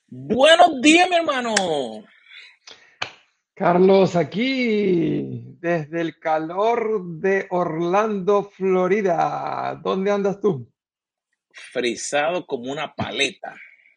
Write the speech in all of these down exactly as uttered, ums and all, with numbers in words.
Buenos días, mi hermano. Carlos, aquí desde el calor de Orlando, Florida. ¿Dónde andas tú? Frisado como una paleta.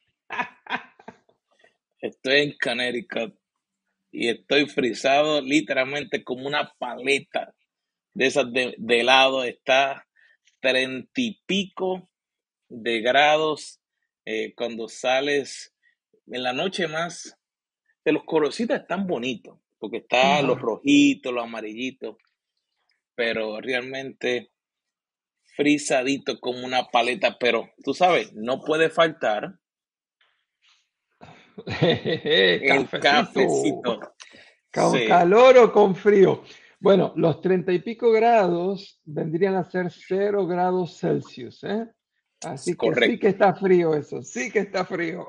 Estoy en Connecticut y estoy frisado literalmente como una paleta de esas de, de helado. Está treinta y pico de grados eh, cuando sales en la noche más. De los colorcitos están bonitos porque están los Ajá. rojitos, los amarillitos, pero realmente frisadito como una paleta. Pero tú sabes, no puede faltar el Cafecito. cafecito. ¿Con Sí, calor o con frío? Bueno, los treinta y pico grados vendrían a ser cero grados Celsius, ¿eh? es Así que sí que correcto. está frío eso, sí que está frío.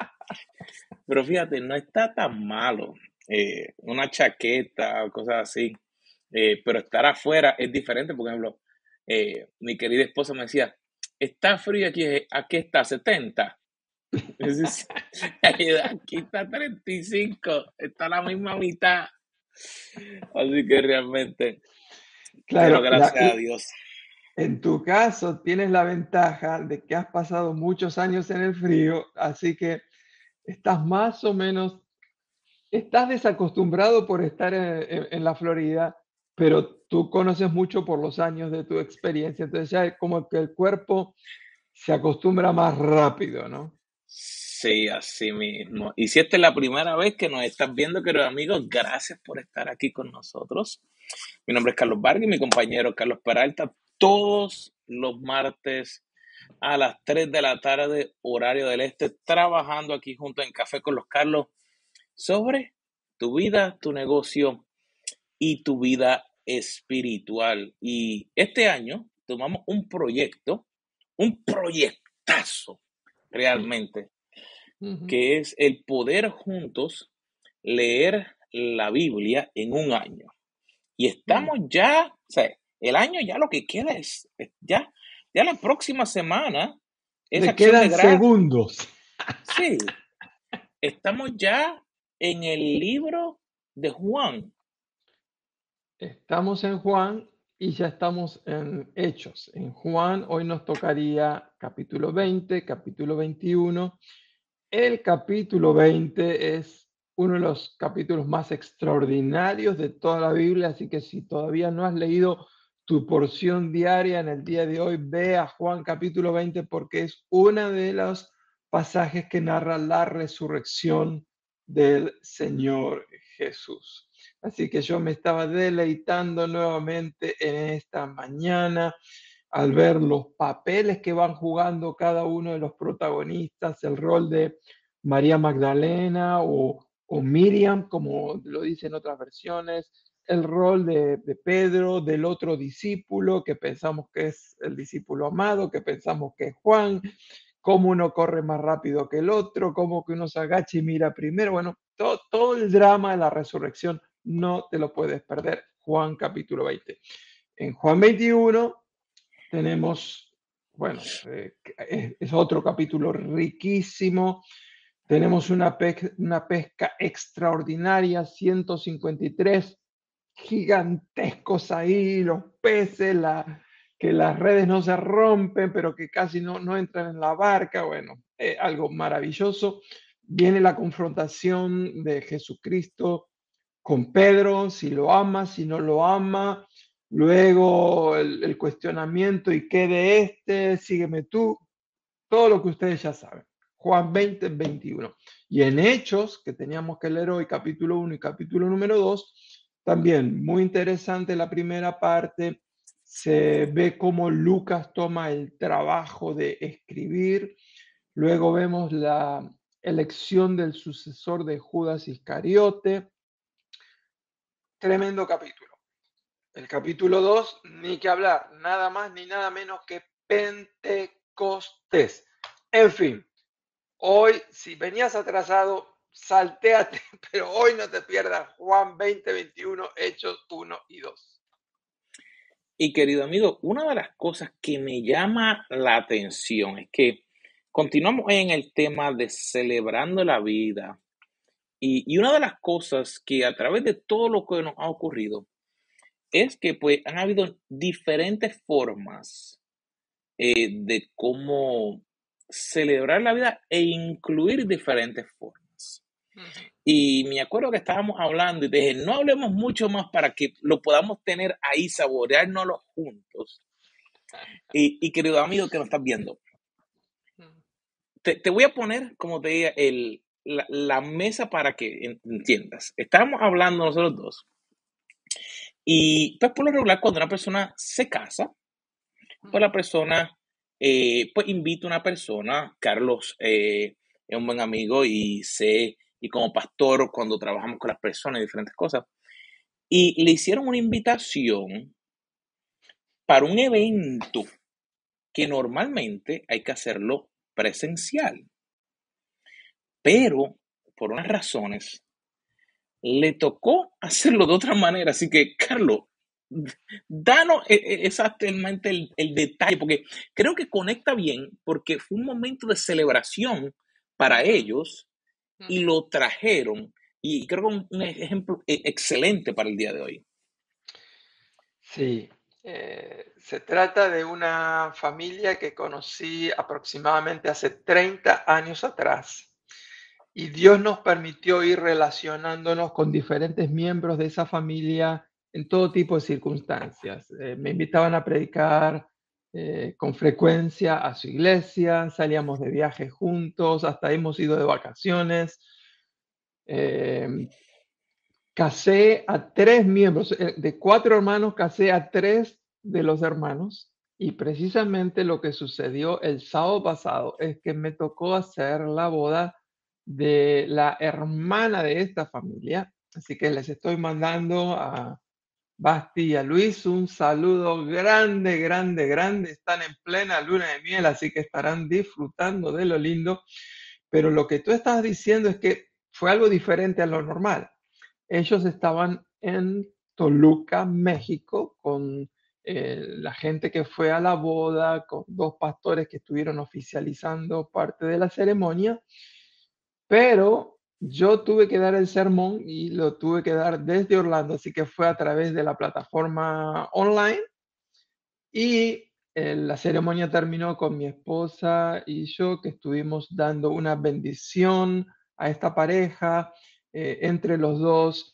Pero fíjate, no está tan malo. Eh, una chaqueta o cosas así. Eh, pero estar afuera es diferente. Por ejemplo, eh, mi querida esposa me decía, está frío aquí, aquí está setenta. Es aquí está treinta y cinco, está la misma mitad. Así que realmente, pero Claro, la, gracias a Dios. en tu caso tienes la ventaja de que has pasado muchos años en el frío, así que estás más o menos, estás desacostumbrado por estar en, en- en la Florida, pero tú conoces mucho por los años de tu experiencia, entonces ya es como que el cuerpo se acostumbra más rápido, ¿no? Sí, así mismo. Y si esta es la primera vez que nos estás viendo, queridos amigos, gracias por estar aquí con nosotros. Mi nombre es Carlos Vargas y mi compañero Carlos Peralta. Todos los martes a las tres de la tarde, horario del este, trabajando aquí junto en Café con los Carlos sobre tu vida, tu negocio y tu vida espiritual. Y este año tomamos un proyecto, un proyectazo Sí. realmente, Ujú. que es el poder juntos leer la Biblia en un año. Y Mm. estamos ya, o sea, el año ya lo que queda es, es ya, ya la próxima semana es Le acción de quedan gracias. segundos. Sí, estamos ya en el libro de Juan. Estamos en Juan y ya estamos en Hechos. En Juan hoy nos tocaría capítulo veinte, capítulo veintiuno. El capítulo veinte es uno de los capítulos más extraordinarios de toda la Biblia, así que si todavía no has leído tu porción diaria en el día de hoy, ve a Juan capítulo veinte porque es uno de los pasajes que narra la resurrección del Señor Jesús. Así que yo me estaba deleitando nuevamente en esta mañana al ver los papeles que van jugando cada uno de los protagonistas, el rol de María Magdalena o, o Miriam, como lo dicen otras versiones, el rol de, de Pedro, del otro discípulo, que pensamos que es el discípulo amado, que pensamos que es Juan, cómo uno corre más rápido que el otro, cómo que uno se agacha y mira primero. Bueno, todo, todo el drama de la resurrección no te lo puedes perder. Juan capítulo veinte. En Juan veintiuno tenemos, bueno, eh, es, es otro capítulo riquísimo. Tenemos una, pe una pesca extraordinaria, ciento cincuenta y tres gigantescos ahí, los peces, la, que las redes no se rompen, pero que casi no, no entran en la barca. Bueno, eh, algo maravilloso. Viene la confrontación de Jesucristo con Pedro, si lo ama, si no lo ama. Luego el, el cuestionamiento, ¿y qué de este? Sígueme tú. Todo lo que ustedes ya saben. Juan veinte, veintiuno. Y en Hechos, que teníamos que leer hoy, capítulo uno y capítulo número dos, también muy interesante la primera parte. Se ve cómo Lucas toma el trabajo de escribir. Luego vemos la elección del sucesor de Judas Iscariote. Tremendo capítulo. El capítulo dos, ni que hablar, nada más ni nada menos que Pentecostés. En fin, hoy, si venías atrasado, saltéate, pero hoy no te pierdas Juan veinte, veintiuno, Hechos uno y dos. Y querido amigo, una de las cosas que me llama la atención es que Continuamos en el tema de celebrando la vida. Y, y una de las cosas que a través de todo lo que nos ha ocurrido es que pues han habido diferentes formas eh, de cómo celebrar la vida e incluir diferentes formas. Ujú. Y me acuerdo que estábamos hablando y te dije, no hablemos mucho más para que lo podamos tener ahí, saboreárnoslo juntos. Y, y querido amigo que nos estás viendo, Ujú. te, te voy a poner, como te diga, el, la, la mesa para que en- entiendas. Estábamos hablando nosotros dos. Y pues por lo regular, cuando una persona se casa, pues la persona, eh, pues invita a una persona, Carlos eh, es un buen amigo y sé, y como pastor, cuando trabajamos con las personas y diferentes cosas, y le hicieron una invitación para un evento que normalmente hay que hacerlo presencial, pero por unas razones le tocó hacerlo de otra manera. Así que, Carlos, danos e- e- exactamente el, el detalle, porque creo que conecta bien, porque fue un momento de celebración para Ujú. ellos y Ujú. lo trajeron. Y creo que un, un ejemplo e- excelente para el día de hoy. Sí, eh, se trata de una familia que conocí aproximadamente hace treinta años atrás y Dios nos permitió ir relacionándonos con diferentes miembros de esa familia en todo tipo de circunstancias. Eh, me invitaban a predicar eh, con frecuencia a su iglesia, salíamos de viaje juntos, hasta hemos ido de vacaciones. Em, Casé a tres miembros, eh, de cuatro hermanos, casé a tres de los hermanos, y precisamente lo que sucedió el sábado pasado es que me tocó hacer la boda de la hermana de esta familia, así que les estoy mandando a Basti y a Luis un saludo grande, grande, grande. Están en plena luna de miel, así que estarán disfrutando de lo lindo, pero lo que tú estás diciendo es que fue algo diferente a lo normal. Ellos estaban en Toluca, México, con eh, la gente que fue a la boda, con dos pastores que estuvieron oficializando parte de la ceremonia, pero yo tuve que dar el sermón y lo tuve que dar desde Orlando, así que fue a través de la plataforma online y eh, la ceremonia terminó con mi esposa y yo, que estuvimos dando una bendición a esta pareja eh, entre los dos.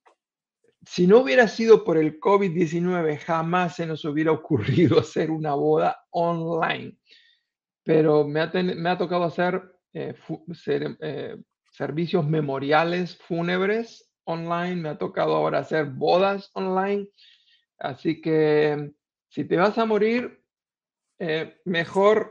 Si no hubiera sido por el COVID diecinueve, jamás se nos hubiera ocurrido hacer una boda online, pero me ha, ten- me ha tocado hacer eh, fu- cere- eh, servicios memoriales fúnebres online, me ha tocado ahora hacer bodas online, así que si te vas a morir, eh, mejor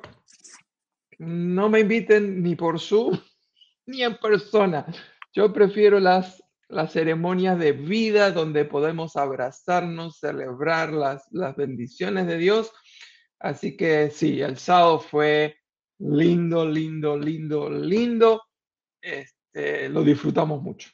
no me inviten ni por Zoom ni en persona. Yo prefiero las, las ceremonias de vida donde podemos abrazarnos, celebrar las, las bendiciones de Dios. Así que sí, el sábado fue lindo, lindo, lindo, lindo. Este, lo disfrutamos mucho.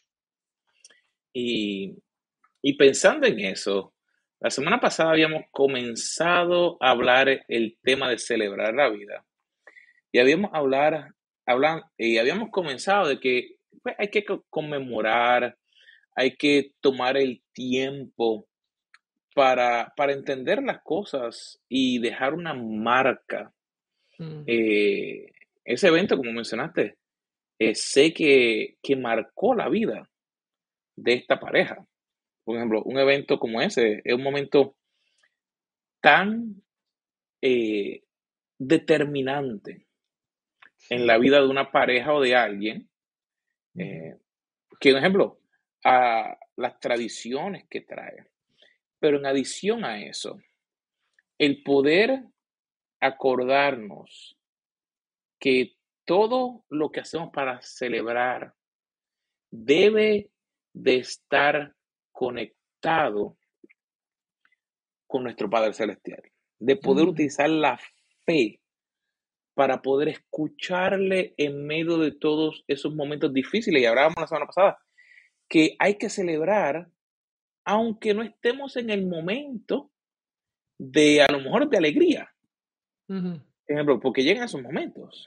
Y, y pensando en eso, la semana pasada habíamos comenzado a hablar el tema de celebrar la vida. Y habíamos hablar, hablan, y habíamos comenzado de que pues, hay que co- conmemorar, hay que tomar el tiempo para, para entender las cosas y dejar una marca. Mm, Eh, ese evento, como mencionaste, eh, sé que, que marcó la vida de esta pareja. Por ejemplo, un evento como ese es un momento tan eh, determinante en la sí. vida de una pareja o de alguien, Ujú. eh, que, por ejemplo, a las tradiciones que trae. Pero en adición a eso, el poder acordarnos que todo lo que hacemos para celebrar debe de estar conectado con nuestro Padre Celestial, de poder Mm, utilizar la fe para poder escucharle en medio de todos esos momentos difíciles. Y hablábamos la semana pasada que hay que celebrar aunque no estemos en el momento de, a lo mejor, de alegría. ujú. Por ejemplo, porque llegan esos momentos.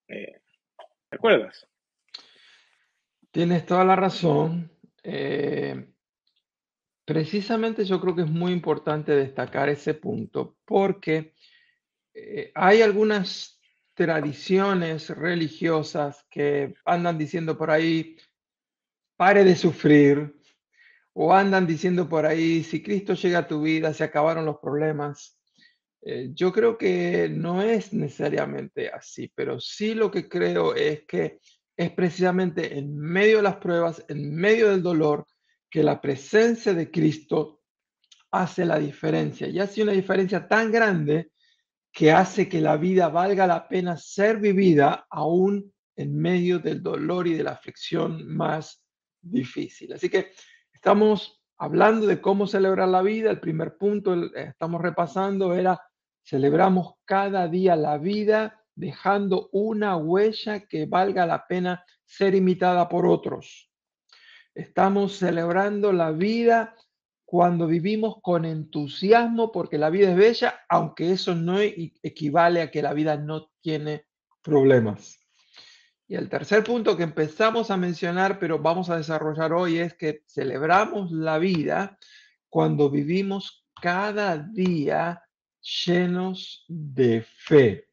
Eh, ¿Te acuerdas? Tienes toda la razón. Eh, precisamente yo creo que es muy importante destacar ese punto porque eh, hay algunas tradiciones religiosas que andan diciendo por ahí, pare de sufrir, o andan diciendo por ahí, si Cristo llega a tu vida, se acabaron los problemas. Eh, yo creo que no es necesariamente así, pero sí lo que creo es que es precisamente en medio de las pruebas, en medio del dolor, que la presencia de Cristo hace la diferencia y hace una diferencia tan grande que hace que la vida valga la pena ser vivida aún en medio del dolor y de la aflicción más difícil. Así que estamos hablando de cómo celebrar la vida. El primer punto, el- eh, estamos repasando, era celebramos cada día la vida dejando una huella que valga la pena ser imitada por otros. Estamos celebrando la vida cuando vivimos con entusiasmo porque la vida es bella, aunque eso no e- equivale a que la vida no tiene problemas. Y el tercer punto que empezamos a mencionar, pero vamos a desarrollar hoy, es que celebramos la vida cuando vivimos cada día llenos de fe.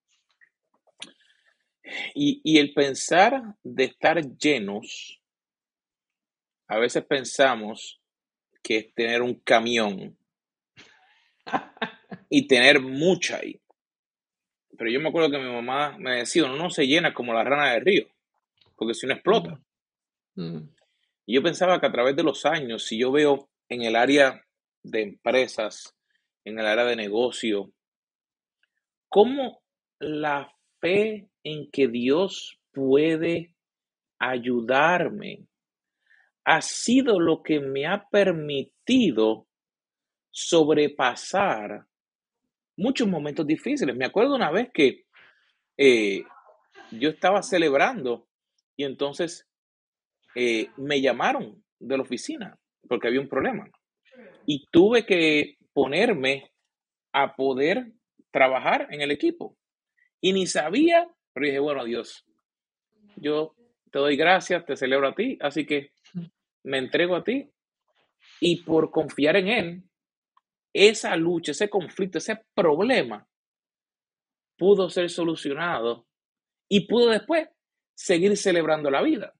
Y, y el pensar de estar llenos, a veces pensamos que es tener un camión y tener mucha ahí. Pero yo me acuerdo que mi mamá me decía, uno no se llena como la rana del río, porque si no Mm, explota. mm. Y yo pensaba que a través de los años, si yo veo en el área de empresas, en el área de negocio, cómo la fe en que Dios puede ayudarme ha sido lo que me ha permitido sobrepasar muchos momentos difíciles. Me acuerdo una vez que eh, yo estaba celebrando y entonces eh, me llamaron de la oficina porque había un problema y tuve que ponerme a poder trabajar en el equipo y ni sabía, pero dije, bueno, Dios, yo te doy gracias, te celebro a ti, así que me entrego a ti y por confiar en Él, esa lucha, ese conflicto, ese problema pudo ser solucionado y pudo después seguir celebrando la vida.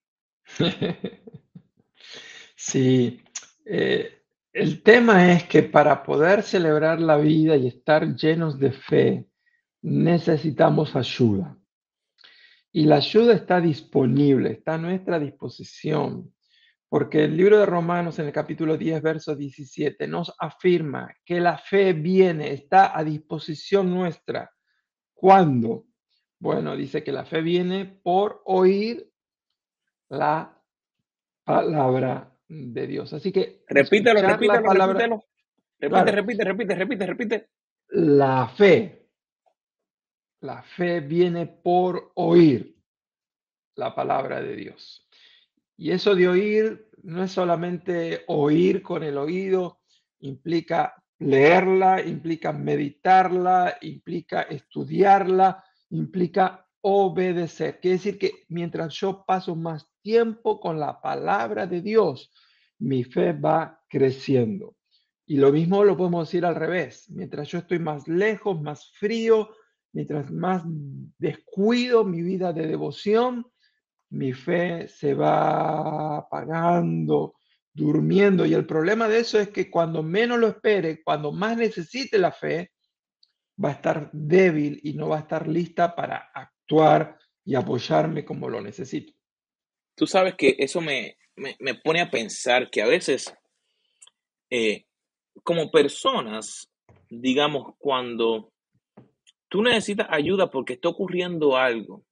Sí, eh, el tema es que para poder celebrar la vida y estar llenos de fe, necesitamos ayuda. Y la ayuda está disponible, está a nuestra disposición, porque el libro de Romanos en el capítulo diez, verso diecisiete, nos afirma que la fe viene, está a disposición nuestra. ¿Cuándo? Bueno, dice que la fe viene por oír la palabra de Dios. Así que Repítelo, escuchar la repítelo, palabra, repítelo. Repite, claro, repite, repite, repite, repite. la fe, la fe viene por oír la palabra de Dios. Y eso de oír no es solamente oír con el oído, implica leerla, implica meditarla, implica estudiarla, implica obedecer. Quiere decir que mientras yo paso más tiempo con la palabra de Dios, mi fe va creciendo. Y lo mismo lo podemos decir al revés. Mientras yo estoy más lejos, más frío, mientras más descuido mi vida de devoción, mi fe se va apagando, durmiendo. Y el problema de eso es que cuando menos lo espere, cuando más necesite la fe, va a estar débil y no va a estar lista para actuar y apoyarme como lo necesito. Tú sabes que eso me, me, me pone a pensar que a veces, eh, como personas, digamos, cuando tú necesitas ayuda porque está ocurriendo algo,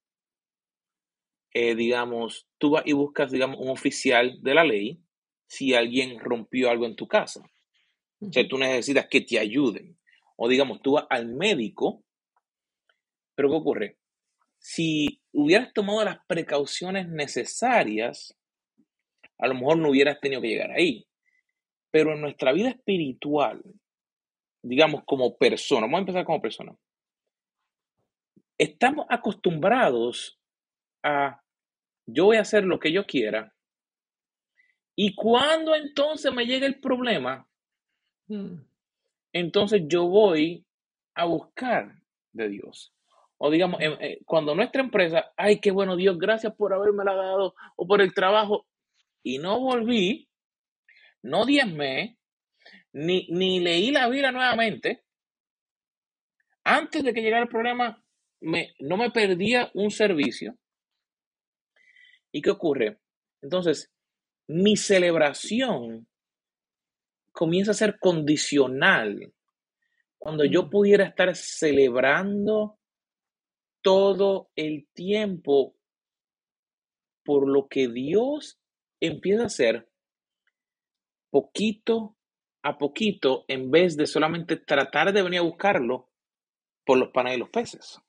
eh, digamos, tú vas y buscas, digamos, un oficial de la ley si alguien rompió algo en tu casa. O sea, Ujú. tú necesitas que te ayuden. O digamos, tú vas al médico, pero ¿qué ocurre? Si hubieras tomado las precauciones necesarias, a lo mejor no hubieras tenido que llegar ahí. Pero en nuestra vida espiritual, digamos como persona, vamos a empezar como persona, estamos acostumbrados a yo voy a hacer lo que yo quiera y cuando entonces me llega el problema, Mm, entonces yo voy a buscar de Dios. O digamos, mm. em, eh, cuando nuestra empresa, ay, qué bueno Dios, gracias por haberme la dado o por el trabajo, y no volví, no diezmé, ni, ni leí la Biblia nuevamente, antes de que llegara el problema, me, no me perdía un servicio. ¿Y qué ocurre? Entonces, mi celebración comienza a ser condicional cuando yo Mm, pudiera estar celebrando todo el tiempo por lo que Dios empieza a hacer poquito a poquito en vez de solamente tratar de venir a buscarlo por los panes y los peces.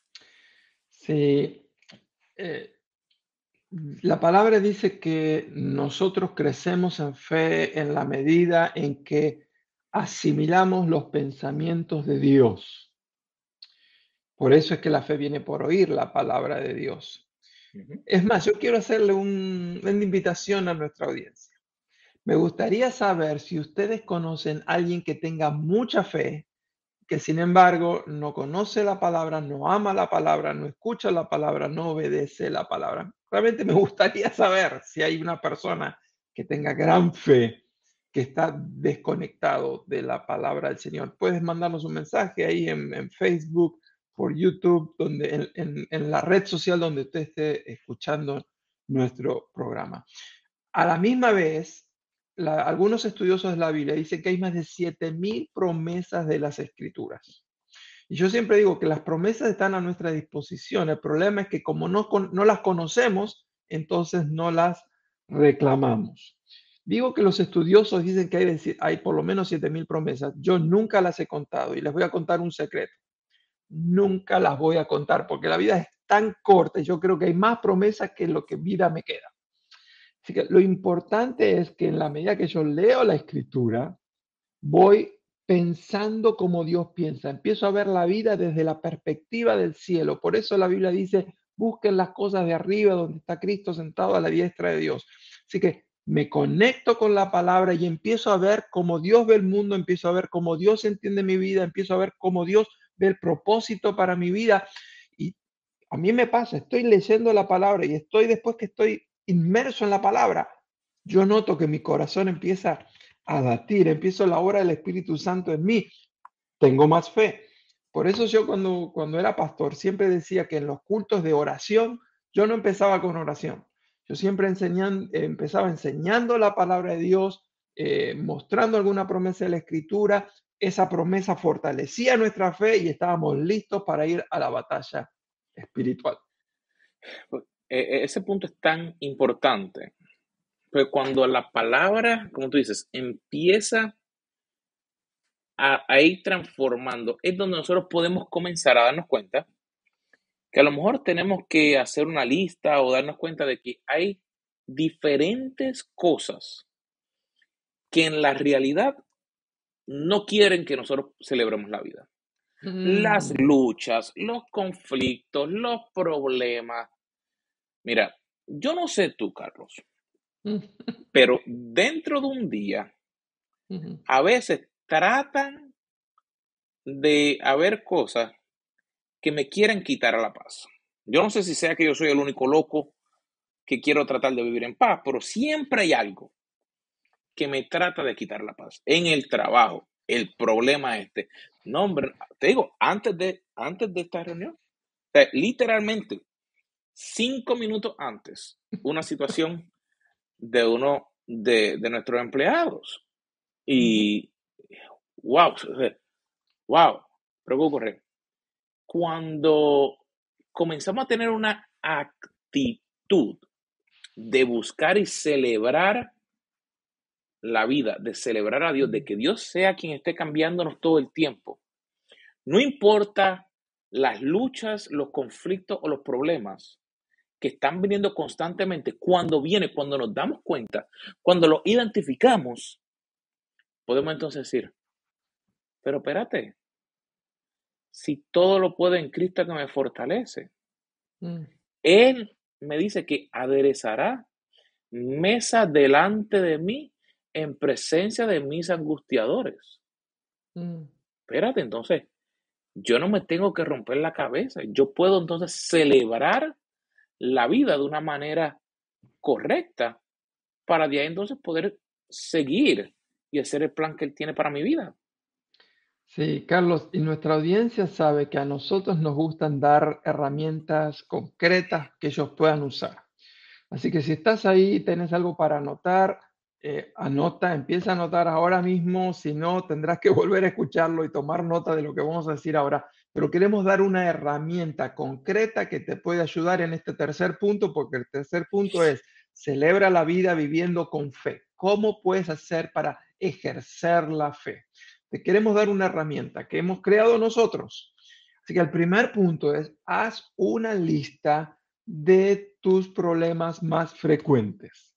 Sí, eh, la palabra dice que nosotros crecemos en fe en la medida en que asimilamos los pensamientos de Dios. Por eso es que la fe viene por oír la palabra de Dios. Ujú. Es más, yo quiero hacerle un- una invitación a nuestra audiencia. Me gustaría saber si ustedes conocen a alguien que tenga mucha fe, que sin embargo no conoce la palabra, no ama la palabra, no escucha la palabra, no obedece la palabra. Realmente me gustaría saber si hay una persona que tenga gran fe, que está desconectado de la palabra del Señor. Puedes mandarnos un mensaje ahí en, en Facebook, por YouTube, donde, en, en- en la red social donde usted esté escuchando nuestro programa. A la misma vez, la- algunos estudiosos de la Biblia dicen que hay más de siete mil promesas de las Escrituras. Y yo siempre digo que las promesas están a nuestra disposición. El problema es que como no, con- no las conocemos, entonces no las reclamamos. Digo que los estudiosos dicen que hay, de hay por lo menos siete mil promesas. Yo nunca las he contado y les voy a contar un secreto. Nunca las voy a contar porque la vida es tan corta y yo creo que hay más promesas que lo que vida me queda. Así que lo importante es que en la medida que yo leo la escritura, voy pensando como Dios piensa. Empiezo a ver la vida desde la perspectiva del cielo. Por eso la Biblia dice, busquen las cosas de arriba donde está Cristo sentado a la diestra de Dios. Así que me conecto con la palabra y empiezo a ver cómo Dios ve el mundo, empiezo a ver cómo Dios entiende mi vida, empiezo a ver cómo Dios ve el propósito para mi vida. Y a mí me pasa, estoy leyendo la palabra y estoy después que estoy inmerso en la palabra, yo noto que mi corazón empieza a latir, empiezo la obra del Espíritu Santo en mí, tengo más fe. Por eso yo cuando, cuando era pastor siempre decía que en los cultos de oración, yo no empezaba con oración. Yo siempre enseñan, eh, empezaba enseñando la palabra de Dios, eh, mostrando alguna promesa de la Escritura. Esa promesa fortalecía nuestra fe y estábamos listos para ir a la batalla espiritual. Pues, e- e- ese punto es tan importante, pues cuando la palabra, como tú dices, empieza a, a ir transformando, es donde nosotros podemos comenzar a darnos cuenta que a lo mejor tenemos que hacer una lista o darnos cuenta de que hay diferentes cosas que en la realidad no quieren que nosotros celebremos la vida. Las Mm. luchas, los conflictos, los problemas. Mira, yo no sé tú, Carlos, pero dentro de un día, a veces tratan de haber cosas que me quieren quitar a la paz. Yo no sé si sea que yo soy el único loco que quiero tratar de vivir en paz, pero siempre hay algo que me trata de quitar la paz. En el trabajo, el problema este. No, hombre, te digo, antes de, antes de esta reunión, o sea, literalmente, cinco minutos antes, una situación de uno de, de nuestros empleados. Y, wow, wow, pero ¿qué ocurre? Cuando comenzamos a tener una actitud de buscar y celebrar la vida, de celebrar a Dios, de que Dios sea quien esté cambiándonos todo el tiempo. No importa las luchas, los conflictos o los problemas que están viniendo constantemente, cuando viene, cuando nos damos cuenta, cuando lo identificamos, podemos entonces decir, pero espérate, si todo lo puedo en Cristo que me fortalece? Mm, Él me dice que aderezará mesa delante de mí en presencia de mis angustiadores. mm. Espérate, entonces, yo no me tengo que romper la cabeza. Yo puedo entonces celebrar la vida de una manera correcta para de ahí entonces poder seguir y hacer el plan que Él tiene para mi vida. Sí, Carlos, y nuestra audiencia sabe que a nosotros nos gustan dar herramientas concretas que ellos puedan usar. Así que si estás ahí y tienes algo para anotar, eh, anota, empieza a anotar ahora mismo, si no, tendrás que volver a escucharlo y tomar nota de lo que vamos a decir ahora. Pero queremos dar una herramienta concreta que te puede ayudar en este tercer punto, porque el tercer punto es, celebra la vida viviendo con fe. ¿Cómo puedes hacer para ejercer la fe? Te queremos dar una herramienta que hemos creado nosotros. Así que el primer punto es, haz una lista de tus problemas más frecuentes.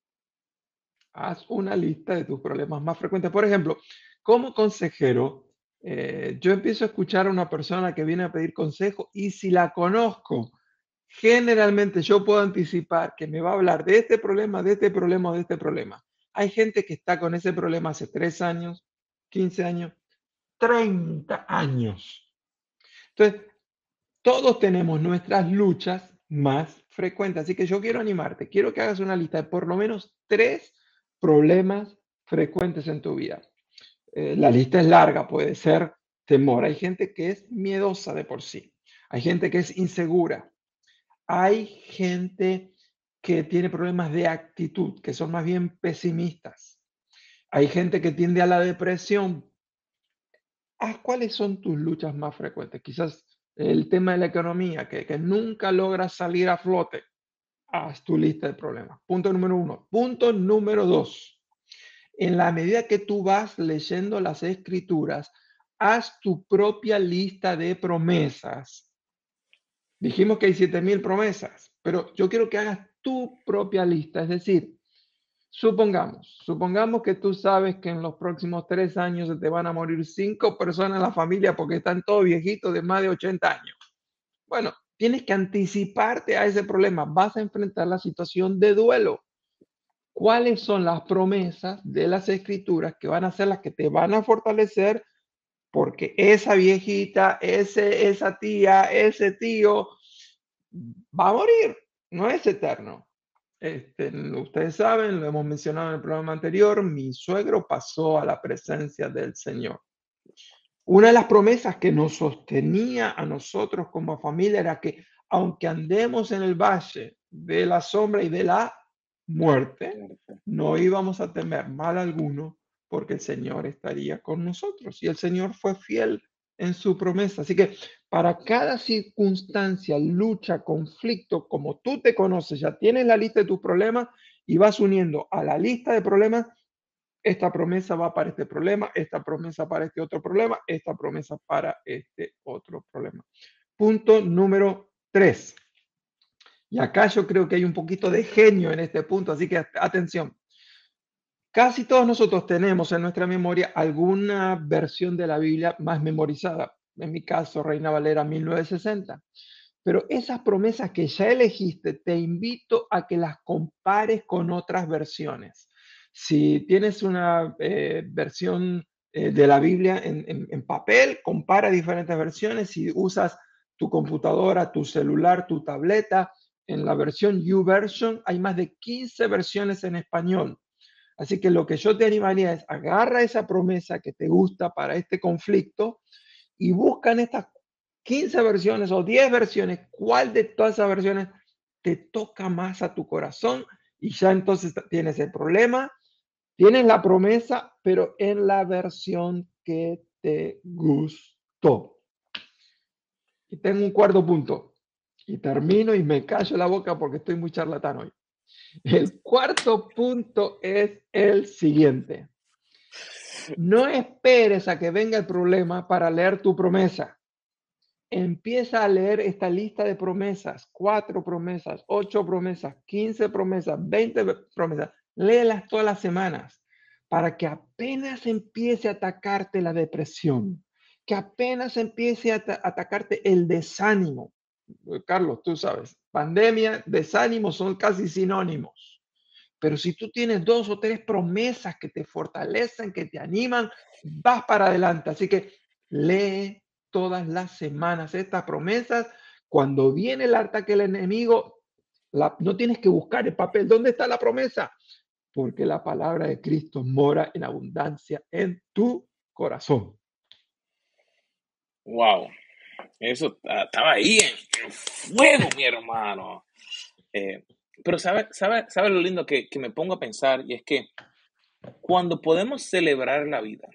Haz una lista de tus problemas más frecuentes. Por ejemplo, como consejero, eh, yo empiezo a escuchar a una persona que viene a pedir consejo y si la conozco, generalmente yo puedo anticipar que me va a hablar de este problema, de este problema o de este problema. Hay gente que está con ese problema hace tres años, quince años, treinta años. Entonces, todos tenemos nuestras luchas más frecuentes, así que yo quiero animarte, quiero que hagas una lista de por lo menos tres problemas frecuentes en tu vida. Eh, la lista es larga, puede ser temor. Hay gente que es miedosa de por sí. Hay gente que es insegura. Hay gente que tiene problemas de actitud, que son más bien pesimistas. Hay gente que tiende a la depresión. Ah, ¿cuáles son tus luchas más frecuentes? Quizás el tema de la economía, que, que nunca logras salir a flote. Haz tu lista de problemas. Punto número uno. Punto número dos. En la medida que tú vas leyendo las escrituras, haz tu propia lista de promesas. Dijimos que hay siete mil promesas, pero yo quiero que hagas tu propia lista. Es decir, supongamos, supongamos que tú sabes que en los próximos tres años se te van a morir cinco personas en la familia porque están todos viejitos de más de ochenta años. Bueno, tienes que anticiparte a ese problema. Vas a enfrentar la situación de duelo. ¿Cuáles son las promesas de las escrituras que van a ser las que te van a fortalecer? Porque esa viejita, ese, esa tía, ese tío va a morir, no es eterno. Este, ustedes saben, lo hemos mencionado en el programa anterior, mi suegro pasó a la presencia del Señor. Una de las promesas que nos sostenía a nosotros como familia era que aunque andemos en el valle de la sombra y de la muerte, no íbamos a temer mal alguno porque el Señor estaría con nosotros. Y el Señor fue fiel en su promesa. Así que para cada circunstancia, lucha, conflicto, como tú te conoces, ya tienes la lista de tus problemas y vas uniendo a la lista de problemas, esta promesa va para este problema, esta promesa para este otro problema, esta promesa para este otro problema. Punto número tres. Y acá yo creo que hay un poquito de genio en este punto, así que atención. Casi todos nosotros tenemos en nuestra memoria alguna versión de la Biblia más memorizada. En mi caso, Reina Valera mil novecientos sesenta. Pero esas promesas que ya elegiste, te invito a que las compares con otras versiones. Si tienes una eh, versión eh, de la Biblia en, en, en papel, compara diferentes versiones. Si usas tu computadora, tu celular, tu tableta, en la versión YouVersion hay más de quince versiones en español. Así que lo que yo te animaría es agarra esa promesa que te gusta para este conflicto y busca en estas quince versiones o diez versiones, cuál de todas esas versiones te toca más a tu corazón y ya entonces tienes el problema, tienes la promesa, pero en la versión que te gustó. Y tengo un cuarto punto y termino y me callo la boca porque estoy muy charlatán hoy. El cuarto punto es el siguiente. No esperes a que venga el problema para leer tu promesa. Empieza a leer esta lista de promesas, cuatro promesas, ocho promesas, quince promesas, veinte promesas. Léelas todas las semanas para que apenas empiece a atacarte la depresión, que apenas empiece a ata- atacarte el desánimo. Eh, Carlos, tú sabes, pandemia, desánimo son casi sinónimos. Pero si tú tienes dos o tres promesas que te fortalecen, que te animan, vas para adelante. Así que lee todas las semanas estas promesas. Cuando viene el ataque del enemigo, la- no tienes que buscar el papel. ¿Dónde está la promesa? Porque la palabra de Cristo mora en abundancia en tu corazón. Wow, eso ta- estaba ahí en, en fuego, mi hermano. Eh, pero sabe, sabe, sabe lo lindo que, que me pongo a pensar, y es que cuando podemos celebrar la vida,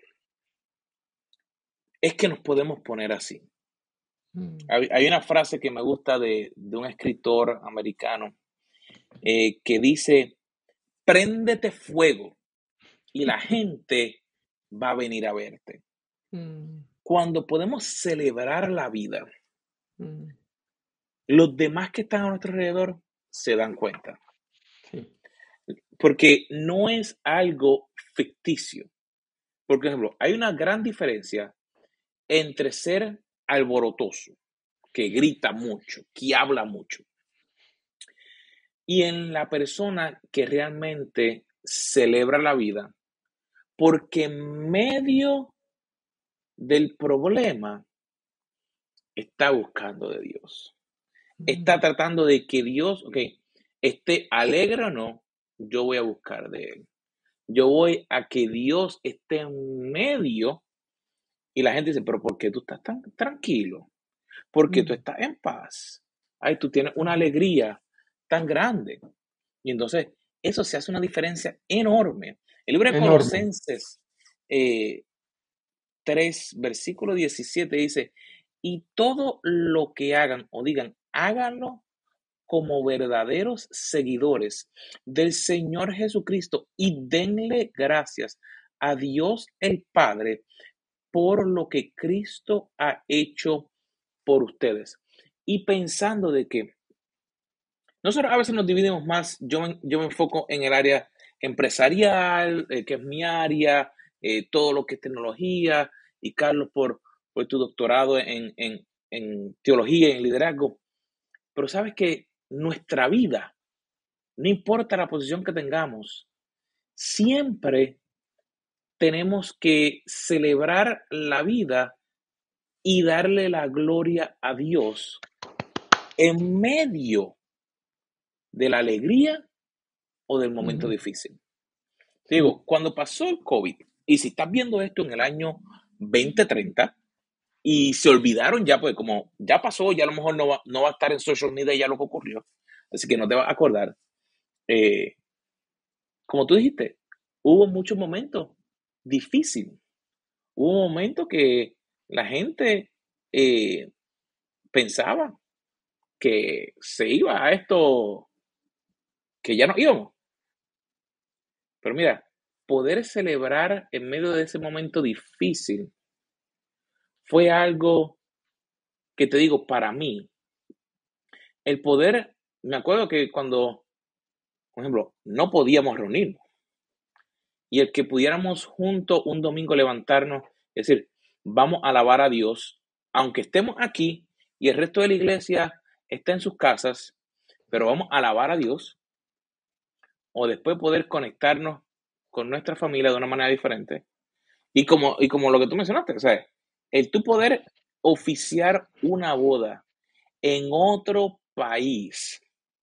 es que nos podemos poner así. Mm, Hay, hay una frase que me gusta de, de un escritor americano eh, que dice, préndete fuego y la gente va a venir a verte. mm, Cuando podemos celebrar la vida, mm, los demás que están a nuestro alrededor se dan cuenta, sí. porque no es algo ficticio. Por ejemplo, hay una gran diferencia entre ser alborotoso, que grita mucho, que habla mucho, y en la persona que realmente celebra la vida, porque en medio del problema está buscando de Dios. Está Mm, tratando de que Dios, ok, esté alegre o no, yo voy a buscar de Él. Yo voy a que Dios esté en medio y la gente dice, pero ¿por qué tú estás tan tranquilo? Porque tú mm, estás en paz. Ay, tú tienes una ujú. alegría tan grande. Y entonces, eso se hace una diferencia enorme. El libro de Enorme. Colosenses eh, tres, versículo diecisiete dice, y todo lo que hagan o digan, háganlo como verdaderos seguidores del Señor Jesucristo y denle gracias a Dios el Padre por lo que Cristo ha hecho por ustedes. Y pensando de que nosotros a veces nos dividimos más, yo me, yo me enfoco en el área empresarial, eh, que es mi área, eh, todo lo que es tecnología, y Carlos por, por tu doctorado en, en, en teología y en liderazgo. Pero sabes que nuestra vida, no importa la posición que tengamos, siempre tenemos que celebrar la vida y darle la gloria a Dios en medio de la alegría o del momento Ujú, difícil. Te sí. digo, cuando pasó el COVID, y si estás viendo esto en el año veinte treinta, y se olvidaron ya, pues como ya pasó, ya a lo mejor no va, no va a estar en social media ya lo que ocurrió, así que no te vas a acordar. Eh, como tú dijiste, hubo muchos momentos difíciles. Hubo momentos que la gente eh, pensaba que se iba a esto, que ya no íbamos. Pero mira, poder celebrar en medio de ese momento difícil fue algo que te digo, para mí, el poder, me acuerdo que cuando, por ejemplo, no podíamos reunirnos y el que pudiéramos juntos un domingo levantarnos, es decir, vamos a alabar a Dios, aunque estemos aquí y el resto de la iglesia está en sus casas, pero vamos a alabar a Dios, o después poder conectarnos con nuestra familia de una manera diferente. Y como, y como lo que tú mencionaste, o sea, el tú poder oficiar una boda en otro país,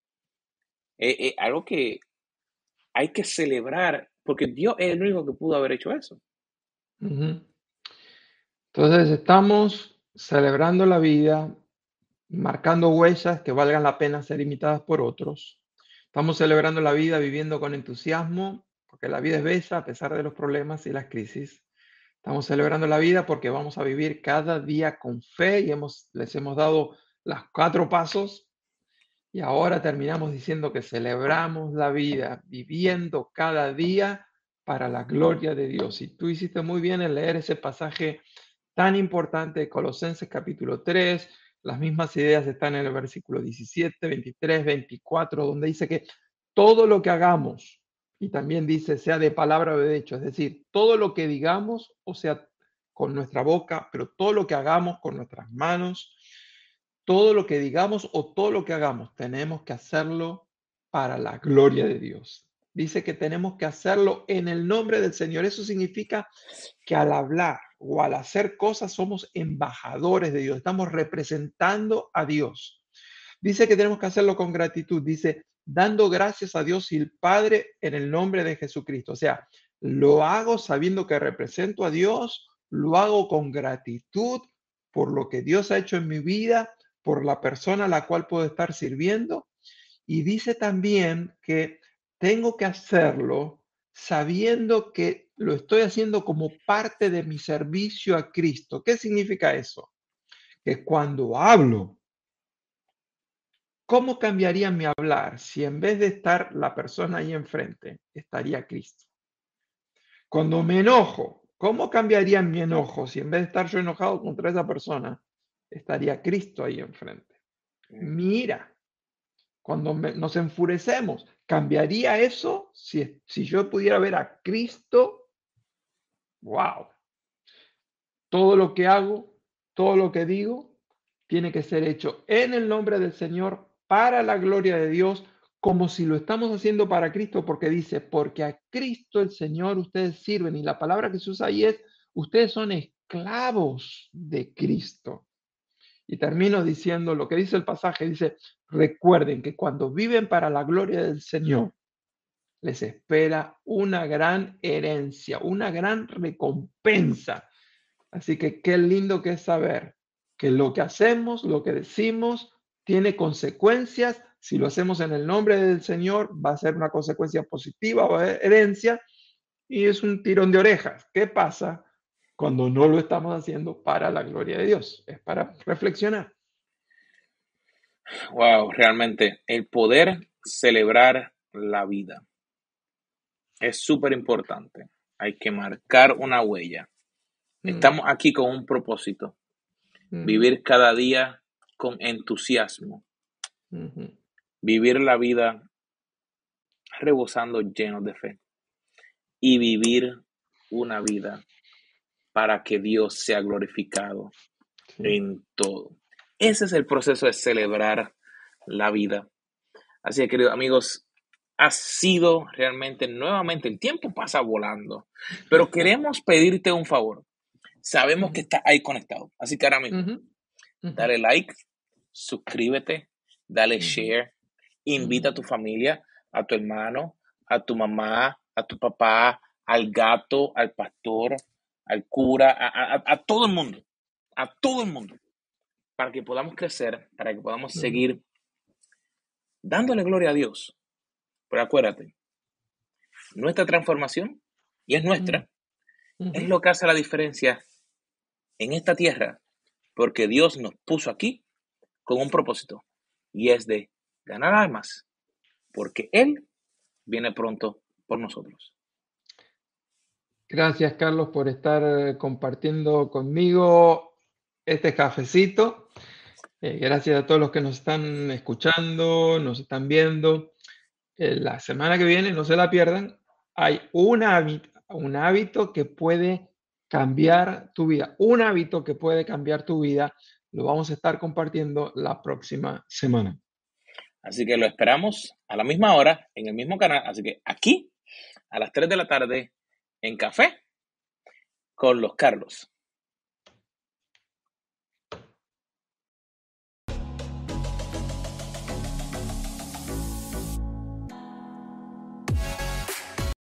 es, es algo que hay que celebrar, porque Dios es el único que pudo haber hecho eso. Ujú. Entonces estamos celebrando la vida, marcando huellas que valgan la pena ser imitadas por otros. Estamos celebrando la vida viviendo con entusiasmo, porque la vida es bella a pesar de los problemas y las crisis. Estamos celebrando la vida porque vamos a vivir cada día con fe y hemos, les hemos dado los cuatro pasos y ahora terminamos diciendo que celebramos la vida viviendo cada día para la gloria de Dios. Y tú hiciste muy bien en leer ese pasaje tan importante de Colosenses capítulo tres. Las mismas ideas están en el versículo diecisiete, veintitrés, veinticuatro, donde dice que todo lo que hagamos, y también dice sea de palabra o de hecho, es decir, todo lo que digamos o sea con nuestra boca, pero todo lo que hagamos con nuestras manos, todo lo que digamos o todo lo que hagamos, tenemos que hacerlo para la gloria de Dios. Dice que tenemos que hacerlo en el nombre del Señor. Eso significa que al hablar o al hacer cosas somos embajadores de Dios, estamos representando a Dios. Dice que tenemos que hacerlo con gratitud, dice, dando gracias a Dios y el Padre en el nombre de Jesucristo. O sea, lo hago sabiendo que represento a Dios, lo hago con gratitud por lo que Dios ha hecho en mi vida, por la persona a la cual puedo estar sirviendo. Y dice también que tengo que hacerlo sabiendo que lo estoy haciendo como parte de mi servicio a Cristo. ¿Qué significa eso? Que cuando hablo, ¿cómo cambiaría mi hablar si en vez de estar la persona ahí enfrente, estaría Cristo? Cuando me enojo, ¿cómo cambiaría mi enojo si en vez de estar yo enojado contra esa persona, estaría Cristo ahí enfrente? Mi ira, cuando me- nos enfurecemos, ¿cambiaría eso si, si yo pudiera ver a Cristo? ¡Wow! Todo lo que hago, todo lo que digo, tiene que ser hecho en el nombre del Señor, para la gloria de Dios, como si lo estamos haciendo para Cristo, porque dice, porque a Cristo el Señor ustedes sirven. Y la palabra que se usa ahí es, ustedes son esclavos de Cristo. Y termino diciendo lo que dice el pasaje, dice, recuerden que cuando viven para la gloria del Señor, les espera una gran herencia, una gran recompensa. Así que qué lindo que es saber que lo que hacemos, lo que decimos, tiene consecuencias. Si lo hacemos en el nombre del Señor, va a ser una consecuencia positiva o herencia, y es un tirón de orejas. ¿Qué pasa cuando no lo estamos haciendo para la gloria de Dios? Es para reflexionar. Wow, realmente el poder celebrar la vida es súper importante. Hay que marcar una huella. Mm, Estamos aquí con un propósito, ujú, vivir cada día con entusiasmo, ujú, vivir la vida rebosando llenos de fe y vivir una vida para que Dios sea glorificado sí. en todo. Ese es el proceso de celebrar la vida. Así que, queridos amigos, ha sido realmente nuevamente, el tiempo pasa volando, pero queremos pedirte un favor. Sabemos que Ujú, estás ahí conectado, así que ahora mismo, ujú, ujú, dale like, suscríbete, dale ujú, share, invita a ujú, tu familia, a tu hermano, a tu mamá, a tu papá, al gato, al pastor, al cura, a, a, a todo el mundo, a todo el mundo, para que podamos crecer, para que podamos ujú, seguir dándole gloria a Dios. Pero acuérdate, nuestra transformación, y es ujú, nuestra, es ujú. lo que hace la diferencia en esta tierra, porque Dios nos puso aquí con un propósito, y es de ganar almas, porque Él viene pronto por nosotros. Gracias, Carlos, por estar eh, compartiendo conmigo este cafecito. Eh, gracias a todos los que nos están escuchando, nos están viendo. Eh, la semana que viene, no se la pierdan, hay un hábito, un hábito que puede cambiar tu vida, un hábito que puede cambiar tu vida. Lo vamos a estar compartiendo la próxima semana. Así que lo esperamos a la misma hora, en el mismo canal, así que aquí, a las tres de la tarde, en Café con los Carlos.